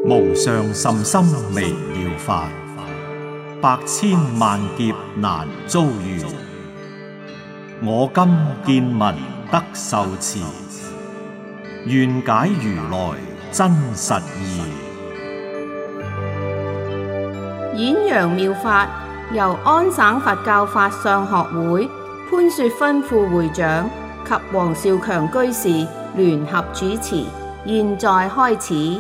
無上甚深微妙法，百千萬劫難遭遇。我今見聞得受持，願解如來真實義。 演揚妙法由安省佛教法相學會潘雪芬副會長及黃少強居士聯合主持，現在開始。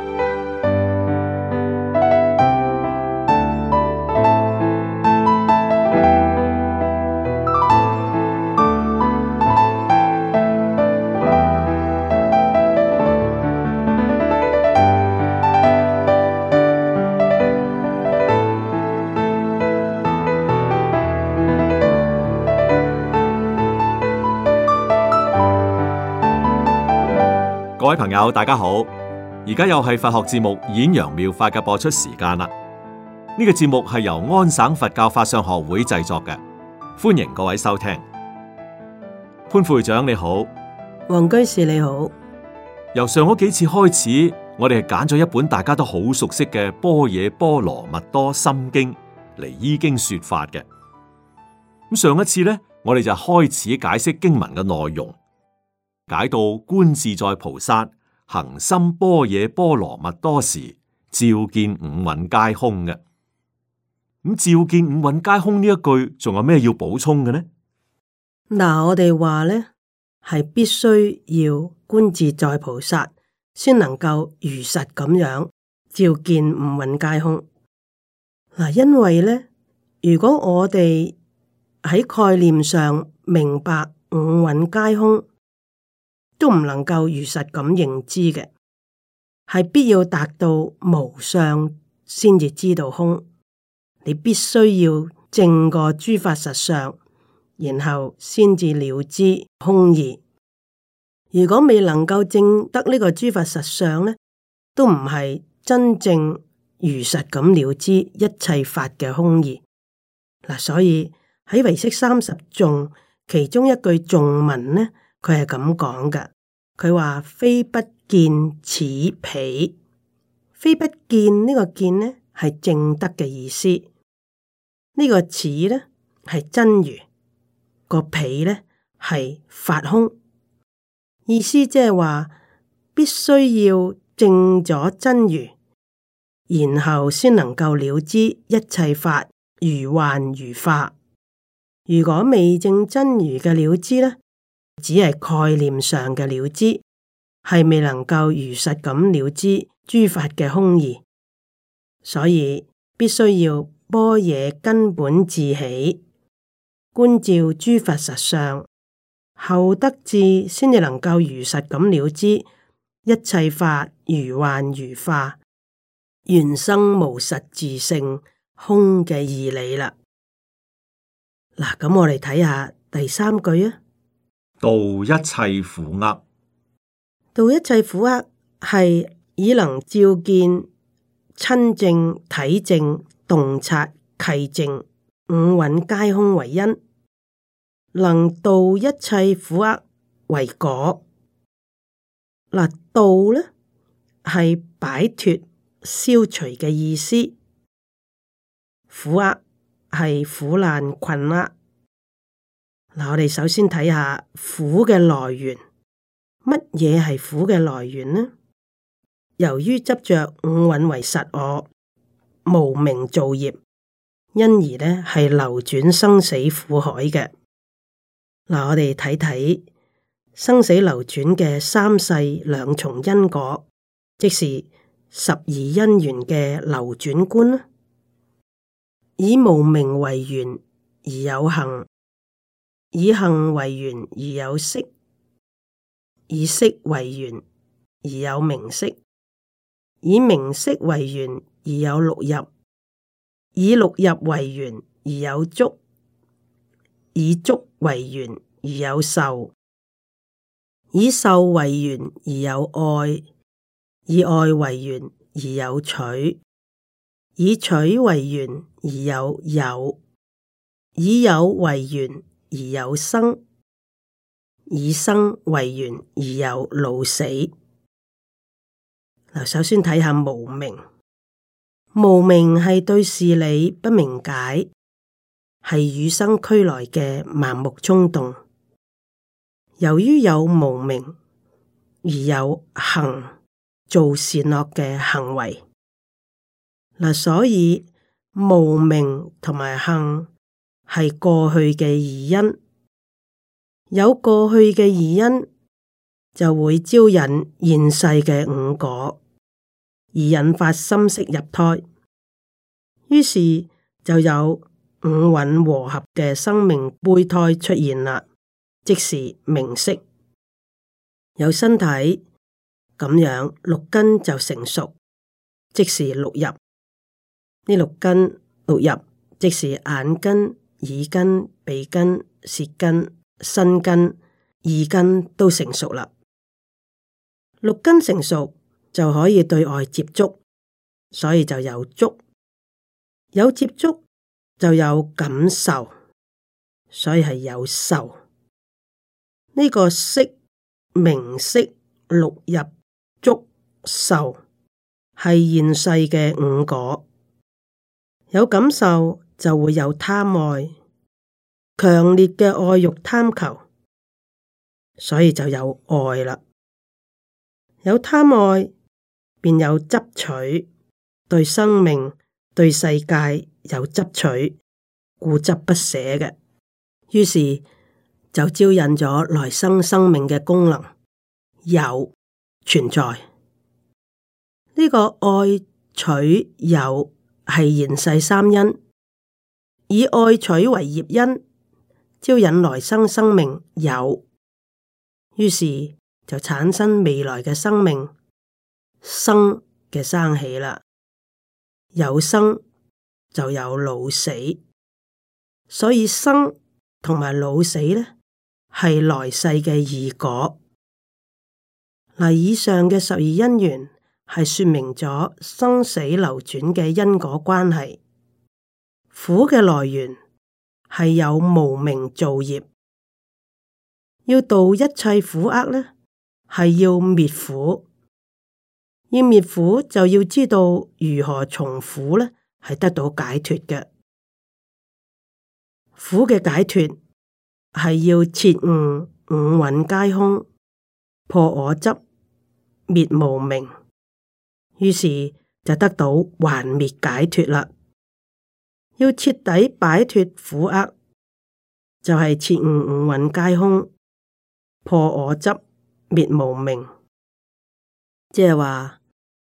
各位朋友，大家好！而家又係佛學節目《演揚妙法》嘅播出時間啦。呢個節目係由安省佛教法相學會製作嘅，歡迎各位收聽。潘副會長你好， 黃居士你好。 由上嗰幾次開始，我哋係揀咗一本大家都好熟悉嘅《般若波羅蜜多心經》嚟依經說法嘅。咁上一次呢，我哋就開始解釋經文嘅內容。解到觀自在菩薩行深般若波羅蜜多時，照見五蘊皆空嘅。咁照見五蘊皆空呢一句，仲有咩要補充嘅呢？ 嗱，我哋話咧係必須要觀自在菩薩，先能夠如實咁樣照見五蘊皆空。嗱，因為咧，如果我哋喺概念上明白五蘊皆空，都唔能夠如實咁認知嘅，係必要達到無相先至知道空。你必須要證過諸法實相，然後先至了知空義。如果未能夠證得呢個諸法實相呢，都唔係真正如實咁了知一切法嘅空義。嗱，所以喺唯識30頌其中一句頌文呢，佢係咁講嘅，佢話非不見此彼，非不見呢個見呢係證得嘅意思，呢個此呢係真如，個彼呢係法空，意思即係話必須要證咗真如，然後先能夠了知一切法如幻如化。如果未證真如嘅了知呢，只係概念上嘅了知，係未能夠如實咁了知諸法嘅空義，所以必須要般若根本自起，觀照諸法實相，後得智先至能夠如實咁了知一切法如幻如化，緣生無實自性空嘅義理啦。嗱，咁我哋睇下第三句啊。 度一切苦厄， 度一切苦厄係以能照見親證、體證、洞察、契證五蘊皆空為因，能度一切苦厄為果。嗱，度呢係擺脫、消除嘅意思，苦厄係苦難困厄。嗱，我哋首先睇下苦嘅來源，乜嘢係苦嘅來源呢？由於執着五蘊為實我，無明造業，因而呢係流轉生死苦海嘅。嗱，我哋睇睇生死流轉嘅三世兩重因果，即是十二因緣嘅流轉觀啦。以無明為緣而有行，以行為緣而有識，以識為緣而有名色，以名色為緣而有六入，以六入為緣而有觸，以觸為緣而有受，以受為緣而有愛，以愛為緣而有取，以取為緣而有有，以有為緣而有生，以生為緣而有老死。 嗱，首先睇下無明。無明係對事理不明解，係與生俱來嘅盲目衝動。由於有無明，而有行做善惡嘅行為。嗱，所以無明同埋行係過去嘅二因。有過去嘅二因，就會招引現世嘅五果，而引發心識入胎，於是就有五蘊和合嘅生命胚胎出現啦，即是名色。有身體咁樣，六根就成熟，即是六入。呢六根六入，即是眼根、耳根、鼻根、舌根、身根、意根都成熟啦。六根成熟就可以對外接觸，所以就有觸。有接觸就有感受，所以係有受。呢個色、名色、六入、觸、受係現世嘅五果。有感受就會有貪愛，強烈嘅愛欲貪求，所以就有愛啦。有貪愛，便有執取，對生命、對世界有執取，固執不捨嘅，於是就招引咗來生生命嘅功能有存在。呢個愛取有係現世三因，以愛取為業因，招引來生生命有，於是就產生未來嘅生命生嘅生起啦。有生就有老死，所以生同埋老死呢係來世嘅二果。嗱，以上嘅12因緣係說明咗生死流轉嘅因果關係。苦嘅來源係有無明造業，要度一切苦厄呢，係要滅苦。要滅苦就要知道如何從苦呢係得到解脫嘅。苦嘅解脫係要徹悟五蘊皆空，破我執，滅無明，於是就得到還滅解脫啦。要徹底擺脫苦厄，就係徹悟五蘊皆空，破我執，滅無明，即係話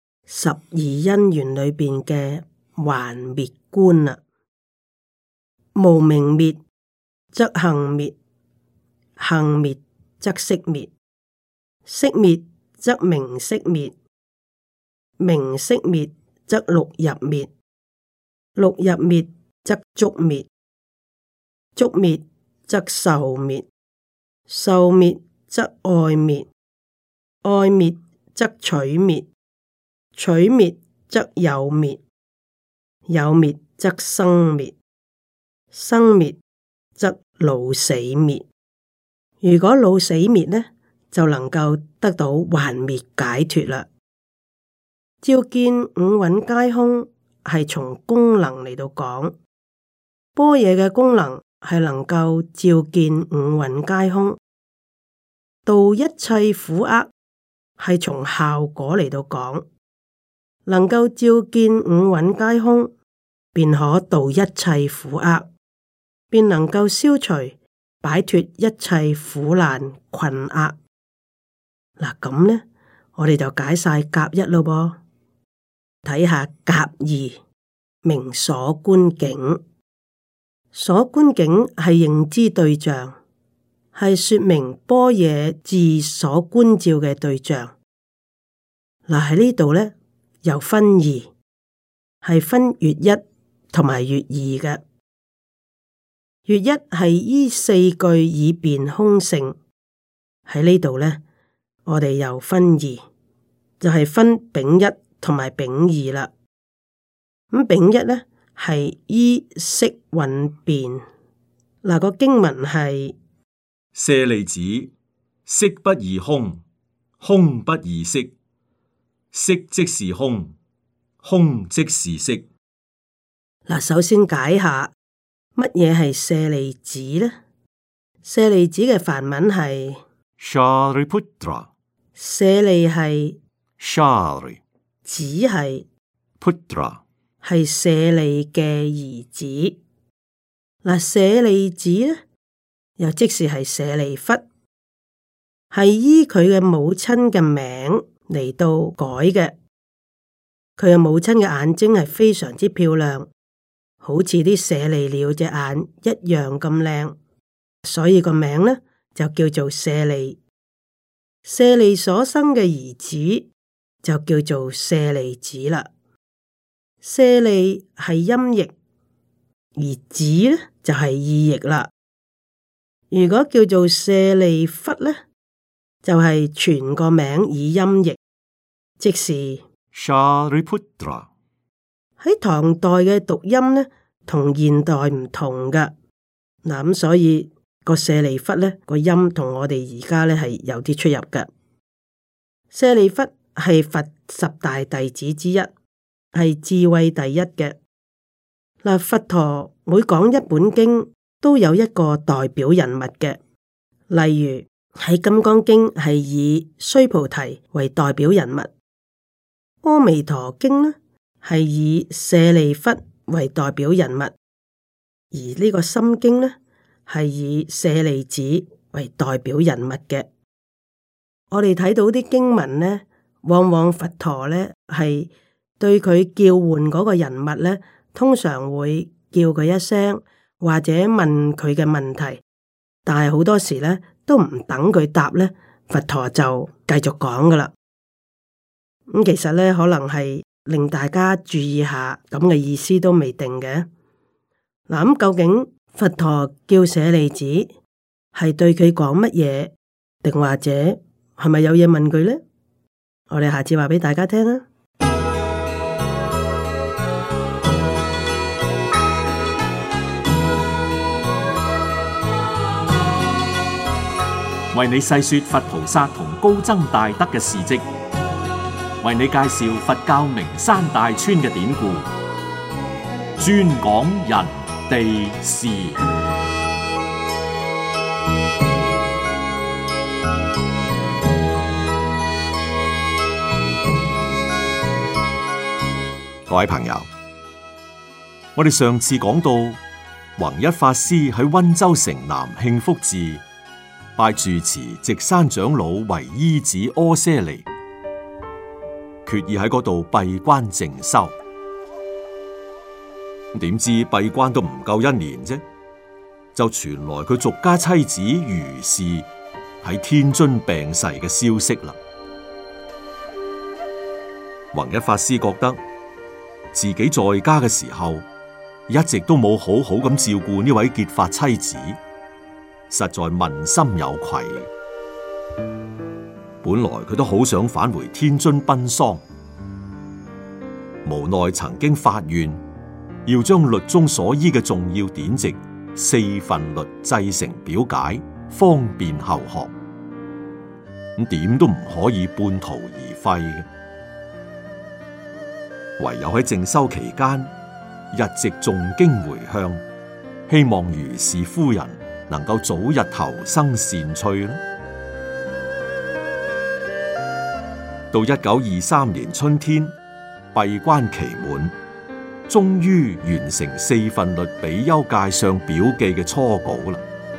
12因緣裏邊嘅還滅觀啦。無明滅則行滅，行滅則識滅，識滅則名色滅，名色滅則六入滅，六入滅則觸滅，觸滅則受滅，受滅則愛滅，愛滅則取滅，取滅則有滅，有滅則生滅，生滅則老死滅。如果老死滅呢，就能夠得到還滅解脫啦。照見五蘊皆空係從功能嚟到講，般若嘅功能係能夠照見五蘊皆空，度一切苦厄係從效果嚟到講，能夠照見五蘊皆空，便可度一切苦厄，便能夠消除擺脫一切苦難困厄。嗱，咁呢，我哋就解晒甲一咯噃，睇下甲二，名所觀境。所觀境係認知對象，係說明般若智所觀照嘅對象。嗱，喺呢度呢，又分二，係分月一同埋月二嘅。月一係依四句以辯空性，喺呢度呢，我哋又分二，就係分丙一同埋丙二啦。咁丙一呢係依色蘊辯。嗱，個經文係舍利子，色不異空，空不異色， 色即是空，空即是色。 嗱，首先解下乜嘢係舍利子呢？舍利子嘅梵文係 Shariputra， 舍利係 Shari， 子係 Putra， 係舍利嘅兒子。嗱，舍利子呢，又即是係舍利弗，係依佢嘅母親嘅名嚟到改嘅。佢嘅母親嘅眼睛係非常之漂亮，好似啲舍利鳥隻眼一樣咁靚，所以個名呢就叫做舍利。舍利所生嘅兒子就叫做舍利子啦。舍利係音譯，而子呢就係意譯啦。如果叫做舍利弗呢，就係全個名以音譯，即是 Shariputra。 喺唐代嘅讀音呢，同現代唔同噶。嗱，咁所以個舍利弗呢個音同我哋而家呢係有啲出入嘅。舍利弗係佛十大弟子之一，係智慧第一嘅。嗱，佛陀每講一本經都有一個代表人物嘅，例如喺《金剛經》係以須菩提為代表人物，《阿彌陀經》呢係以舍利弗為代表人物，而呢個《心經》呢係以舍利子為代表人物嘅。我哋睇到啲經文呢，往往佛陀呢係對佢叫喚嗰個人物呢，通常會叫佢一聲，或者問佢嘅問題，但係好多時呢都唔等佢答呢，佛陀就繼續講噶啦。咁其實呢，可能係令大家注意下咁嘅意思都未定嘅。嗱，咁究竟佛陀叫舍利子係對佢講乜嘢，定或者係咪有嘢問佢呢？我哋下次話俾大家聽啊！ 為你細說佛菩薩同高僧大德嘅事跡，為你介紹佛教名山大川嘅典故，專講人地事。各位朋友，我哋上次講到弘一法師喺溫州城南慶福寺拜住持直山長老為依止阿闍黎，決意喺嗰度閉關靜修。點知閉關都唔夠1年啫，就傳來佢俗家妻子余氏喺天津病逝嘅消息啦。弘一法師覺得自己在家嘅時候，一直都冇好好咁照顧呢位結髮妻子，實在問心有愧。本來佢都好想返回天津奔喪，無奈曾經發願要將律宗所依嘅重要典籍4分律製成表解，方便後學。咁點都唔可以半途而廢嘅。唯有喺靜修期間，日夕誦經回向，希望余氏夫人能夠早日投生善趣啦。到1923年春天，閉關期滿，終於完成4分律比丘戒相表記嘅初稿啦。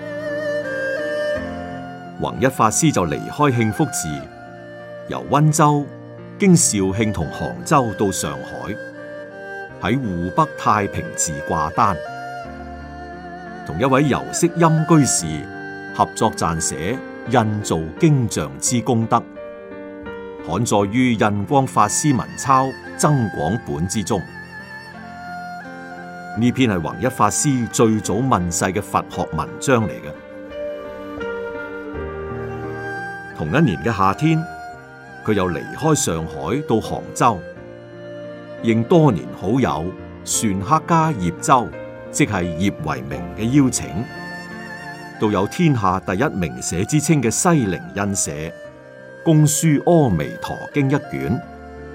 弘一法師就離開慶福寺，由溫州經肇慶同杭州到上海，喺湖北太平寺掛單，同一位游式陰居士合作撰寫印造經像之功德，刊載於印光法師文鈔增廣本之中。呢篇係弘一法師最早問世嘅佛學文章嚟嘅。同一年嘅夏天，佢又離開上海到杭州，應多年好友篆刻家葉舟，即係葉為明嘅邀請，到有天下第一名寫之稱嘅西泠印社，公書《阿彌陀經》1卷，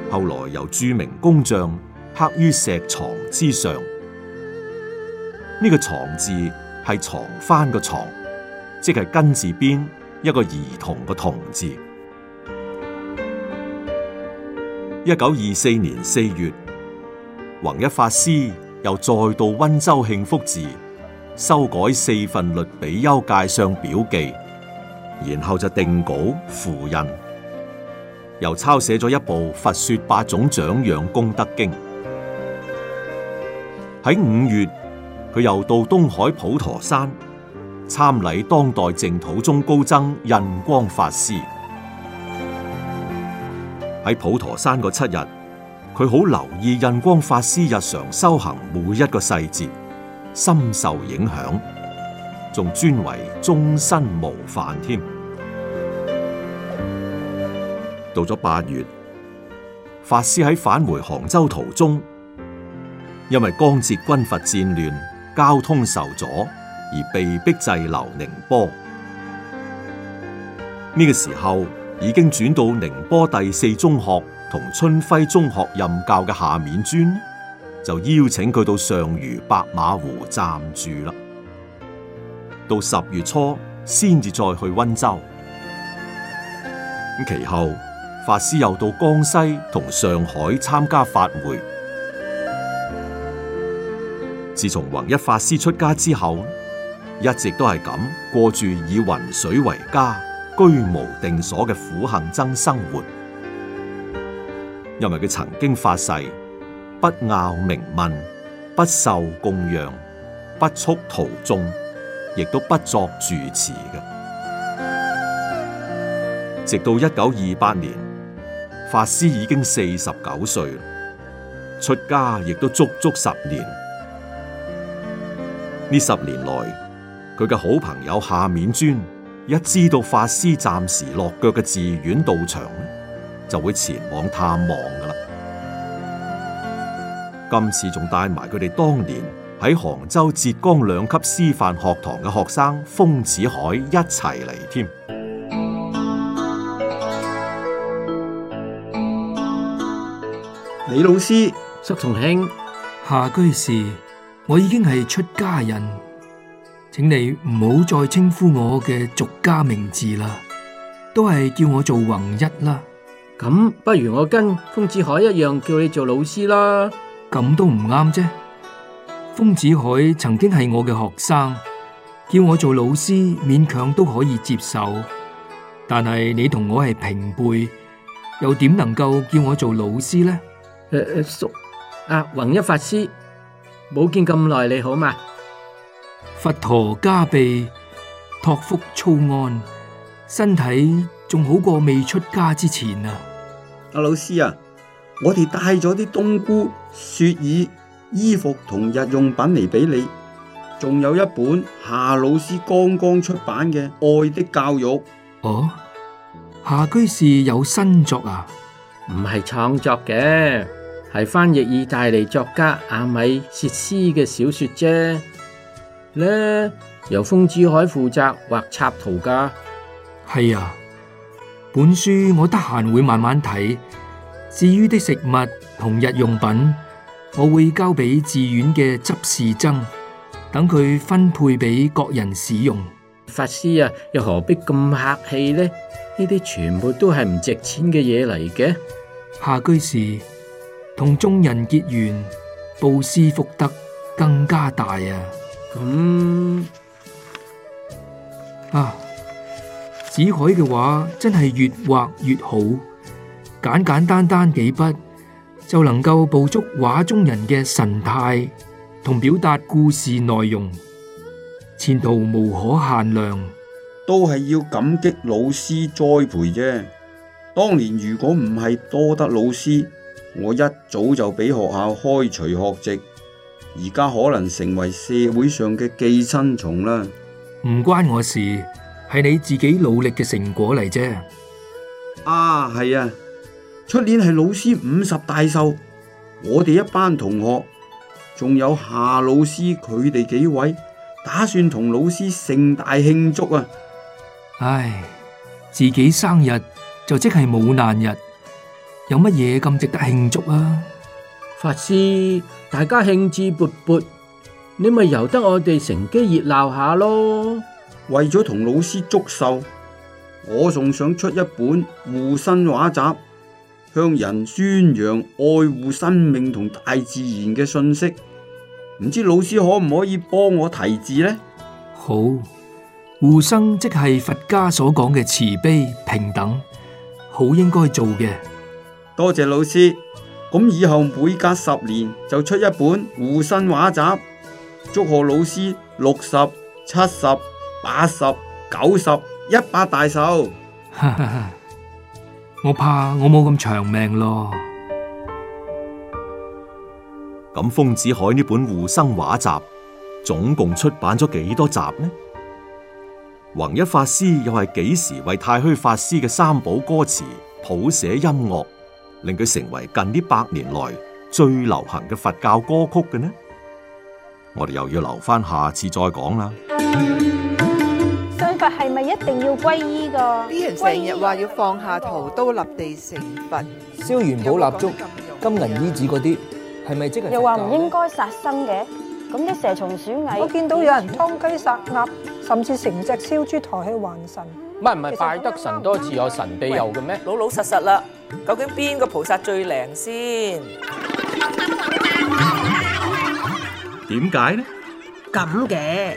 後來由著名工匠刻於石床之上。呢個床字係床幡個床，即係根字邊一個兒童個童字。1924年4月，弘一法師又再到溫州慶福寺修改4份律比丘戒相表記，然後就定稿付印，又抄寫咗一部《佛說8種長養功德經》。喺5月，佢又到東海普陀山參禮當代淨土宗高僧印光法師。喺普陀山嗰7日，佢好留意印光法師日常修行每一個細節，深受影響，仲尊為終身模範添。到咗8月，法師喺返回杭州途中，因為江浙軍閥戰亂，交通受阻，而被迫滯留寧波。呢個時候已經轉到寧波第4中學同春暉中學任教嘅夏丏尊，就邀請佢到上虞白馬湖暫住啦。到10月初先至再去溫州。咁其後，法師又到江西同上海參加法會。自從弘一法師出家之後，一直都係咁過住以雲水為家、居無定所嘅苦行僧生活。因為佢曾經發誓不拗名聞，不受供養，不蓄徒眾，亦都不作住持嘅。直到1928年，法師已經49歲，出家亦都足足10年。呢10年來，佢嘅好朋友夏丏尊一知道法師暫時落腳嘅寺院道場，就會前往探望噶啦。今次仲帶埋佢哋當年喺杭州浙江2級師範學堂嘅學生豐子愷一齊嚟添。 李老師， 叔同兄， 夏居士，我已經係出家人，請你唔好再稱呼我嘅俗家名字啦，都係叫我做弘一啦。 咁不如我跟豐子愷一樣叫你做老師啦。 咁都唔啱啫。豐子愷曾經係我嘅學生，叫我做老師勉強都可以接受，但係你同我係平輩，又點能夠叫我做老師呢？ 叔，弘一法師，冇見咁耐，你好嘛？ 佛陀加被，託福粗安，身體仲好過未出家之前啊！ 阿老師啊，我哋帶咗啲冬菇、雪耳、衣服同日用品嚟俾你，仲有一本夏老師剛剛出版嘅《愛的教育》。 哦，夏居士有新作啊？ 唔係創作嘅，係翻譯意大利作家阿米薛斯嘅小說啫。呢由豐子愷負責畫插圖噶。 係啊，本書我得閒會慢慢睇。至於的食物同日用品，我會交俾寺院嘅執事僧，等佢分配俾各人使用。 法師啊，又何必咁客氣呢？呢啲全部都係唔值錢嘅嘢嚟嘅。 夏居士同眾人結緣，布施福德更加大啊！子愷嘅畫真係越畫越好，簡簡單單幾筆就能夠捕捉畫中人嘅神態同表達故事內容，前途無可限量。 都係要感激老師栽培啫。當年如果唔係多得老師，我一早就俾學校開除學籍，而家可能成為社會上嘅寄生蟲啦。 唔關我事，係你自己努力嘅成果嚟啫。 係啊，出年係老師50大壽，我哋一班同學，仲有夏老師佢哋幾位，打算同老師盛大慶祝啊！ 唉，自己生日就即係母難日， 有乜嘢咁值得慶祝啊？ 法師，大家興致勃勃，你咪由得我哋乘機熱鬧下咯。 為咗同老師祝壽，我仲想出一本護生畫集，向人宣揚愛護生命同大自然嘅信息。唔知老師可唔可以幫我題字呢？ 好，護生即係佛家所講嘅慈悲平等，好應該做嘅。 多謝老師。咁以後每隔10年就出一本護生畫集，祝賀老師60、70、80、90、100大壽。 我怕我冇咁長命咯。 咁豐子愷呢本護生畫集總共出版咗幾多集呢？弘一法師又係幾時為太虛法師嘅三寶歌詞譜寫音樂，令佢成為近呢100年來最流行嘅佛教歌曲嘅呢？我哋又要留翻下次再講啦。 信佛係咪一定要皈依㗎？ 啲人成日話要放下屠刀立地成佛， 燒元寶蠟燭、金銀衣紙嗰啲，係咪即係？ 又話唔應該殺生嘅，咁啲蛇蟲鼠蟻， 我見到有人劏雞殺鴨，甚至成隻燒豬抬去還神。 唔係拜得神多自有神庇佑嘅咩？ 老老實實啦，究竟邊個菩薩最靈先？ 點解呢？ 咁嘅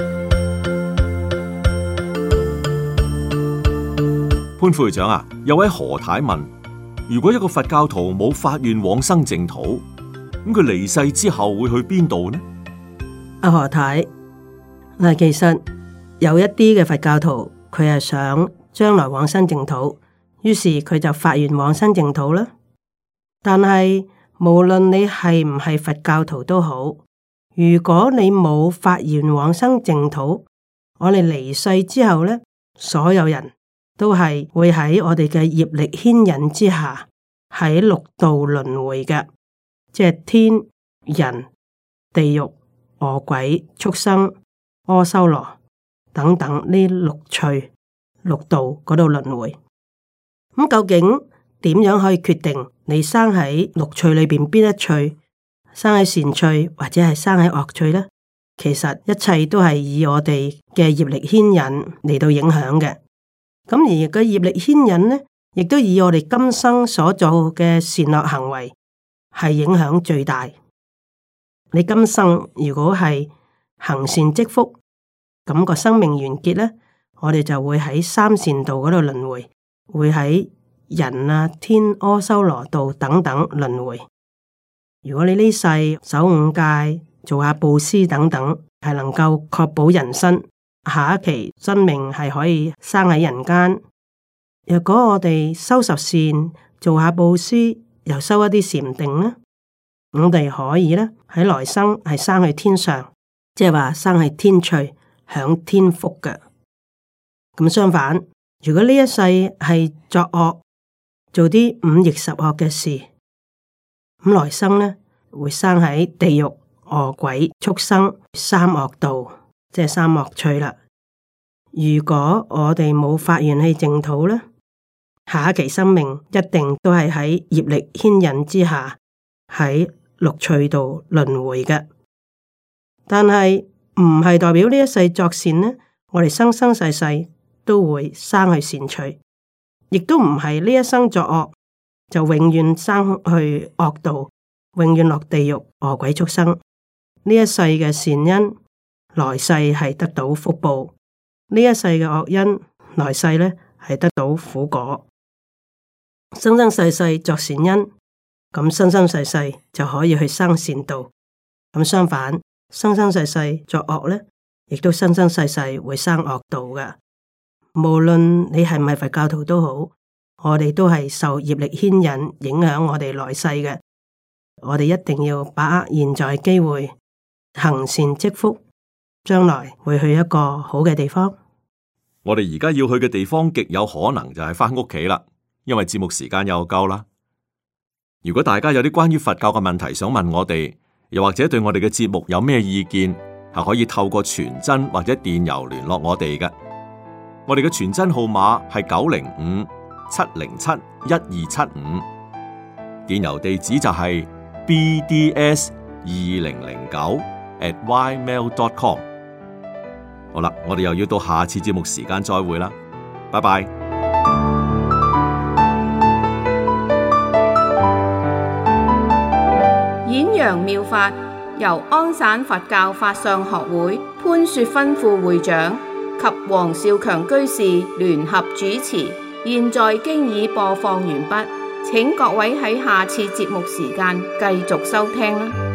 潘副會長啊，有位何太問：如果一個佛教徒冇發願往生淨土，咁佢離世之後會去邊度呢？ 阿何太，嗱，其實有一啲嘅佛教徒，佢係想將來往生淨土，於是佢就發願往生淨土啦。但係無論你係唔係佛教徒都好，如果你冇發願往生淨土，我哋離世之後咧，所有人都係會喺我哋嘅業力牽引之下，喺六道輪迴嘅，即係天、人、地獄、餓鬼、畜生、阿修羅等等呢六趣、六道嗰度輪迴。咁究竟點樣可以決定你生喺六趣裏邊邊一趣，生喺善趣或者係生喺惡趣呢？其實一切都係以我哋嘅業力牽引嚟到影響嘅。咁而個業力牽引呢，亦都以我哋今生所做嘅善惡行為係影響最大。你今生如果係行善積福，咁個生命完結呢，我哋就會喺三善道嗰度輪迴，會喺人啊、天、阿修羅道等等輪迴。如果你呢世守五戒、做下布施等等，係能夠確保人身，下一期生命係可以生喺人間。若果我哋修十善，做下布施，又修一啲禪定呢，我哋可以呢喺來生係生去天上，即係話生去天趣，享天福嘅。咁相反，如果呢一世係作惡，做啲五逆十惡嘅事，咁來生呢會生喺地獄、餓鬼、畜生、三惡道。即係三惡趣啦。如果我哋冇發願去淨土咧，下一期生命一定都係喺業力牽引之下喺六趣度輪迴嘅。但係唔係代表呢一世作善呢，我哋生生世世都會生去善趣，亦都唔係呢一生作惡就永遠生去惡道，永遠落地獄、餓鬼、畜生。呢一世嘅善因，來世係得到福報，呢一世嘅惡因，來世呢係得到苦果。生生世世作善因，咁生生世世就可以去生善道。咁相反，生生世世作惡呢，亦都生生世世會生惡道嘅。無論你係唔係佛教徒都好，我哋都係受業力牽引影響我哋來世嘅。我哋一定要把握現在機會，行善積福。將來會去一個好嘅地方。 我哋而家要去嘅地方極有可能就係返屋企啦，因為節目時間又夠啦。如果大家有啲關於佛教嘅問題想問我哋，又或者對我哋嘅節目有咩意見，係可以透過傳真或者電郵聯絡我哋嘅。我哋嘅傳真號碼係905-707-1275， 電郵地址就係 bds2009@ymail.com。好啦，我哋又要到下次節目時間再會啦，拜拜。 演揚妙法由安省佛教法相學會潘雪芬副會長及黃少強居士聯合主持，現在經已播放完畢，請各位喺下次節目時間繼續收聽啦。